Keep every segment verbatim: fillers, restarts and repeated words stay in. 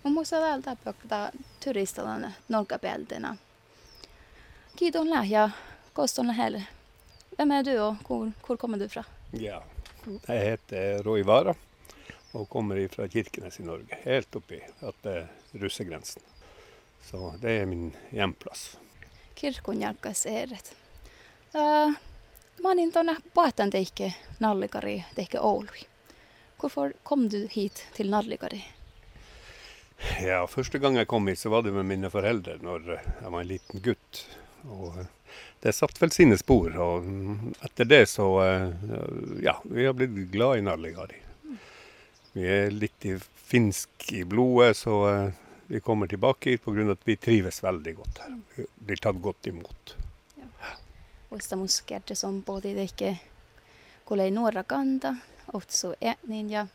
Mun muista täältä pöktä turistalan nolkapeltena. Kiitos lähe koston lähellä. Vem är du och hvor, hvor kommer du fra? Ja, jeg heter Roy Vara og kommer fra Kirkenes i Norge, helt oppi at det er russegrensen. Så det er min hjemplass. Kirkkonjakkas eret. Uh, mä olin tuonne Paatan teikke Nallikari, teikke Oului. Hvorfor kom du hit til Nallikari? Ja, første gang jeg kom hit så var det med mine foreldre når jeg var en liten gutt. Og det satt vel sine spor, og etter det så, ja, vi har blitt glad i Nallikari. Vi er litt i finsk i blodet, så vi kommer tilbake hit på grunn av at vi trives veldig godt her. Vi blir tatt godt imot. Ja. Muista muskerte som både teikke kuulei nuora kanta, otsu etnin ja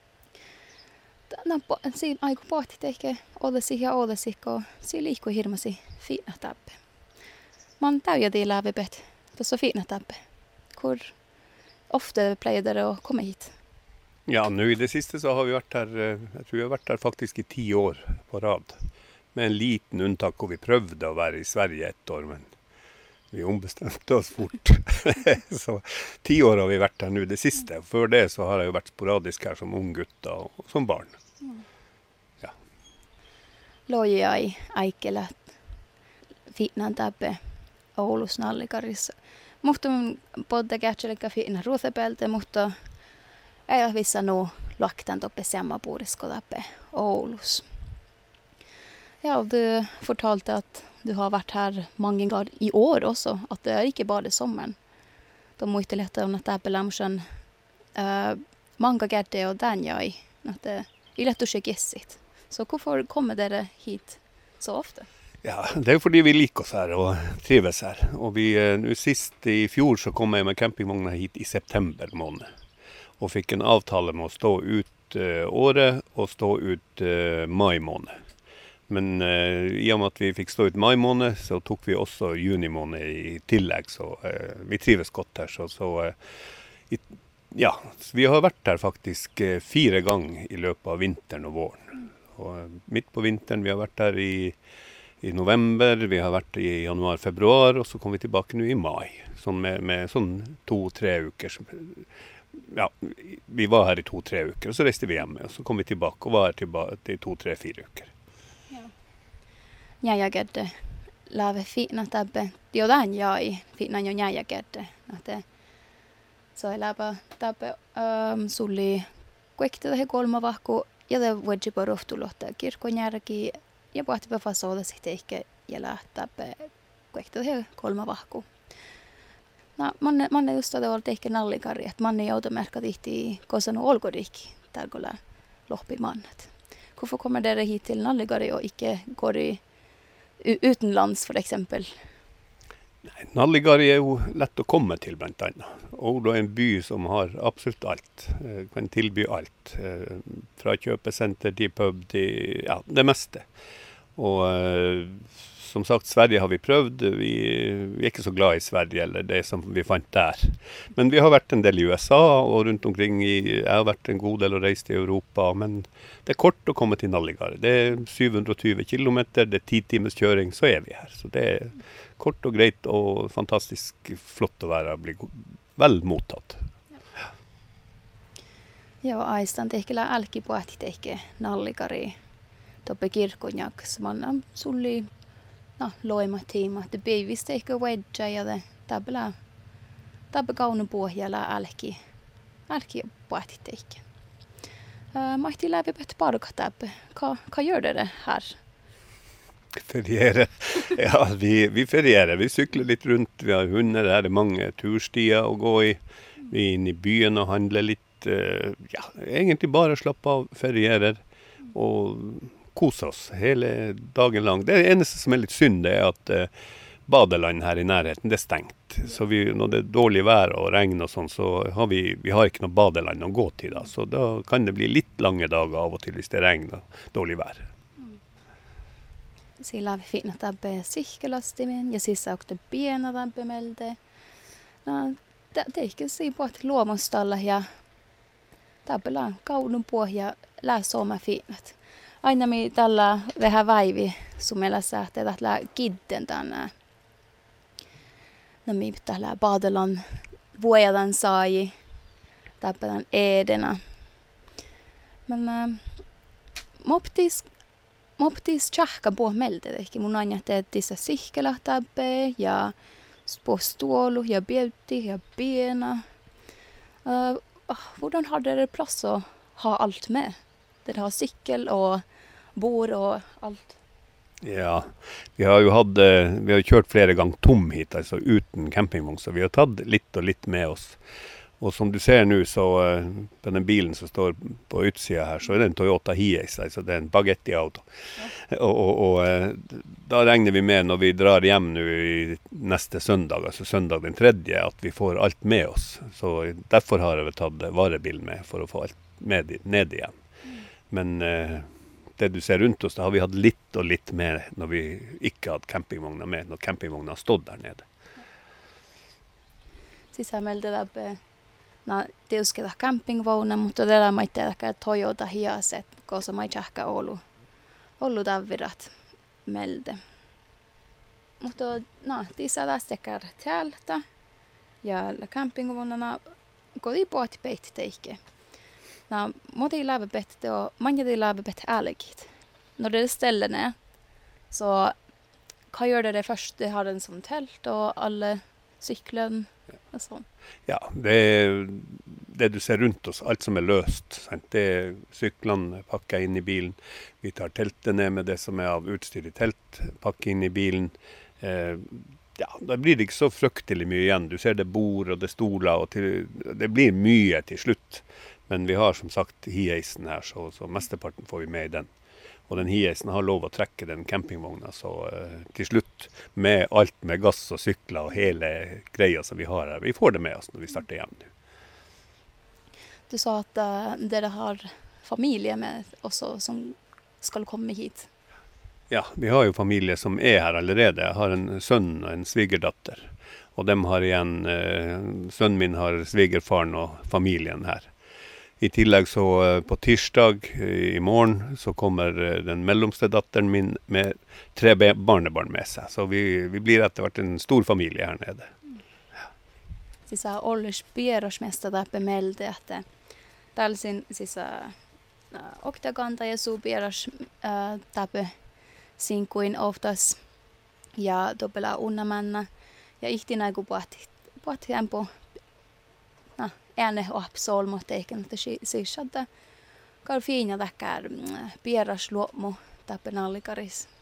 Nappo, siinä aiku pohti teikke olesi ja olesi, kun siinä liikkuu hirmasi fina tappe. Man täyjä till lävibet, tuossa fina tappe. Hvor ofte pleier dere å komme hit? Ja, nu i det siste så har vi vært her, jeg tror vi har vært her faktisk i ti år på rad. Med en liten unntak hvor vi prøvde å være i Sverige ett år, men vi ombestemte oss fort. Så ti år har vi vært her nu det siste. Før det så har jeg jo vært sporadisk her som ung gutt og som barn. Ja. Loja i Aikelät, finan tappe Oulus Nallikarissa. Mutta podda kätselekka fina ruothepelte, mutta ei ole vissa nu laktan toppe samma puurisko tappe Oulus. Ja, du fortalte at du har vært her mange ganger i år også, at det er ikke bare sommeren. Da må ikke lette om at det er på lamsen uh, mange ganger det og den jeg, at det er lett å sjekke gjessit. Så hvorfor kommer dere hit så ofte? Ja, det er fordi vi liker oss her og trives her. Og vi, nu sist i fjor så kom jeg med campingvogna hit i september måned. Og fikk en avtale med å stå ut uh, året og stå ut uh, mai måned. Men uh, i og med at vi fikk stå ut mai måned, så tok vi også juni måned i tillegg. Så uh, vi trives godt her. Så, så uh, i, ja, vi har vært her faktisk uh, fire ganger i løpet av vinteren og våren. Og uh, midt på vinteren, vi har vært her i, i november, vi har vært i januar, februar, og så kom vi tilbake nå i mai. Sånn med, med sånn to-tre uker. Ja, vi var her i to-tre uker, og så reiste vi hjemme, og så kom vi tilbake og var her tilbake i to-tre-fire uker. Njäjägedde lave fina tabbe. Jotain jai fina jo njäjägedde. Että så är läpä tabbe um, sulli kuekte tähän kolma vahku ja det voidji på roftulotta kirkkonjärki ja pohti på fasoda sitten ehkä ja lähtäpä kuekte tähän kolma vahku. No man man just det var ehkä Nallikari att man är automerkka tihti kosanu olkodikki tärkolla lohpimannet. Hvorfor kommer dere hit til Nallikari og ikke går i utenlands for eksempel? Nei, Nallikari er jo lett å komme til blant annet. Oulu er en by som har absolutt alt, kan tilby alt. Fra kjøpesenter til pub til ja, det meste. Og som sagt, Sverige har vi prøvd. Vi, vi er ikke så glad i Sverige eller det som vi fant der. Men vi har vært en del i U S A og rundt omkring i, jeg har vært en god del og reist i Europa, men det er kort å komme til Nallikari. Det er syv hundre og tjue kilometer, det er ti timers kjøring, så er vi her. Så det er kort og greit og fantastisk flott å være og bli vel mottatt. Ja, aistan tehkellä älki pohti tehke Nallikari toppe kirkkonjak, man sulli no, loima tiima, että beivistä ehkä wedja ja det tabla tabla kaunu pohjalla älki älki pohti tehke. Uh, mahti läpi pet parka tabbe. Hva, hva gjør dere her? Feriere. Ja, vi, vi ferierer. Vi sykler litt rundt. Vi har hunder. Her er mange turstier å gå i. Vi er inne i byen og handler litt. Uh, ja, egentlig bare slappe av, ferierer og kose oss hele dagen lang. Det eneste som er litt synd, det er at uh, badeland her i nærheten, det er stengt. Så vi, når det er dårlig vær og regn og sånn, så har vi, vi har ikke noe badeland å gå til da. Så da kan det bli litt lange dager av og til hvis det regner og dårlig vær. Sillä vi fina tabbe sihkelastimen ja sissa också piena tabbe melde. No, det det ikke si på at luomustalla ja tabbella kaunun pohja lää sooma finat. aina mi tällä vähän vaivi sumelassa, että tällä kidden tänne. No mi tällä badelan vuodan sai, täppätän edenä. Men äh, moptis moptis tjahka på meldet, ehkä mun aina teetissä sihkela täppe ja på stålu ja bjauti ja bena. Uh, hvordan har dere plass å ha alt med? Dere har sykkel og bord og alt. Ja, vi har jo hatt, eh, vi har kjørt flere ganger tom hit, altså uten campingvogn, så vi har tatt litt og litt med oss. Og som du ser nå, så eh, på den bilen som står på utsida her, så er det en Toyota Hiace, altså det er en Bagetti-auto. Ja. Og, og, og eh, da regner vi med når vi drar hjem nå i neste søndag, altså søndag den tredje, at vi får alt med oss. Så derfor har jeg vel tatt varebilen med, for å få alt med ned igjen. Mm. Men eh, det du ser rundt oss, da har vi hatt litt og litt med når vi ikke hadde campingvogna med, når campingvogna har stått der nede. Siis sä meiltä läpi, no tiusketa campingvogna, mutta tällä maitteella Toyota Hiace, koska mä tjahka ollut, ollut avvirat meiltä. Mutta no, tässä lästekär täältä ja campingvognarna går i båt peitti teike. No, moti lävepette och många de lävepette ärligt. När det ställer ner så kan göra det först, det har en som tält och alla cyklen och sånt. Ja, det, det du ser rundt oss, alt som er løst, sant? Det er cyklene pakket inn i bilen. Vi tar teltet ned med det som er av utstyr i telt, pakker inn i bilen. Eh, ja, da blir det ikke så fryktelig mye igjen. Du ser det bord og det stoler, og til, det blir mye til slutt. Men vi har som sagt Hiacen her, så, så mesteparten får vi med i den. Og den Hiacen har lov å trekke den campingvogna, så uh, til slutt med alt med gass og sykler og hele greia som vi har her. Vi får det med oss når vi starter hjem nu. Du sa at uh, dere har familie med også som skal komme hit. Ja, vi har jo familie som er her allerede. Jeg har en sønn og en svigerdatter. Og dem har igjen, uh, sønnen min har svigerfaren og familien her. I tillegg så på tirsdag i morgen så kommer den mellomste datteren min med tre barnebarn med seg. Så vi, vi blir etter hvert en stor familie her nede. Ja. Siis Ollers pierosmesta täpä meiltä, että tällaisin siis oktaganta ja suu pieros täpä sinkuin oftas ja doppela unnamanna ja ihtinä kun pohti pohti på ääne opsol mutta eikä että sisältä kar fina täkkär pieras luomu täpä nallikaris